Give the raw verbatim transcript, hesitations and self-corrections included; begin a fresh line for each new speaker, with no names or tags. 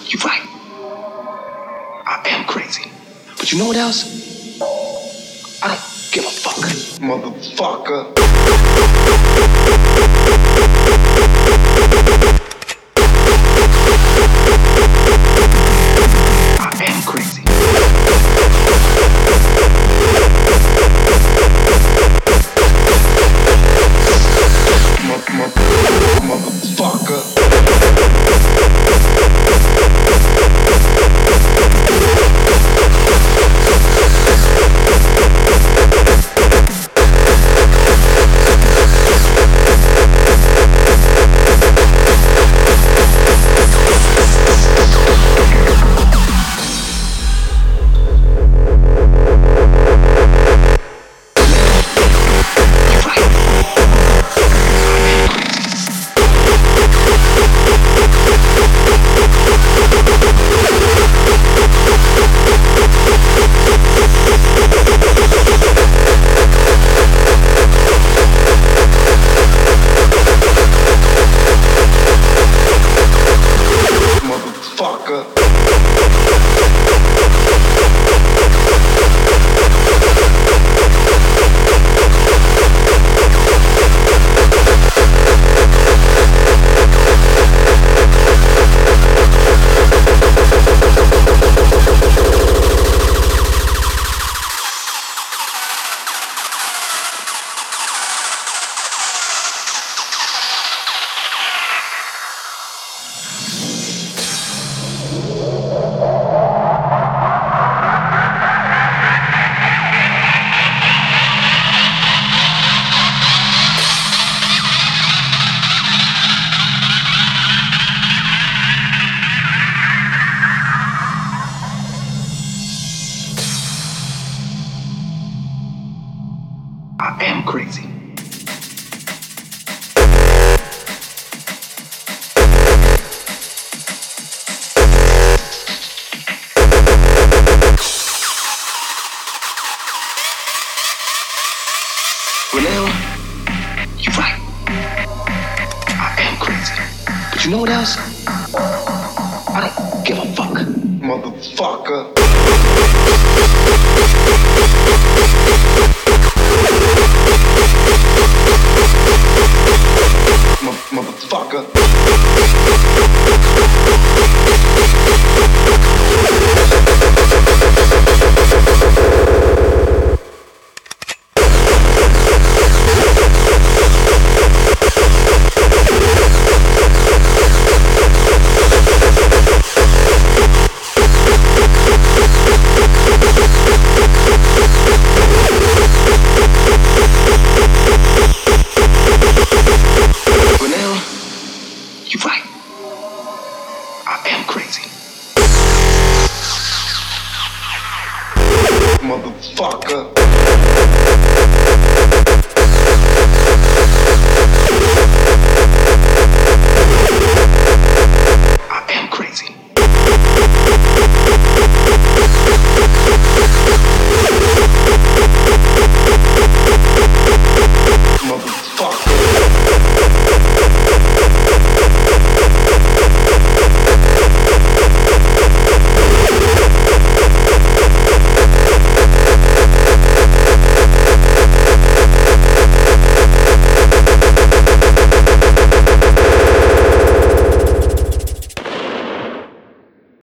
You're right. I am crazy. But you know what else? I don't give a fuck. Motherfucker. I am crazy. Motherfucker. I am crazy. Well, you're right. I am crazy. But you know what else? I don't give a fuck. Motherfucker. Motherfucker. You're right. I am crazy. Motherfucker.